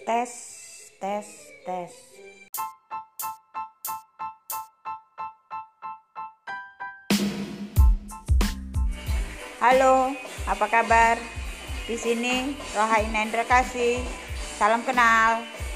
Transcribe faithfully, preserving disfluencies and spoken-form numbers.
Tes, tes, tes. Halo, apa kabar? Di sini Rohaina Indra Kasih. Salam kenal.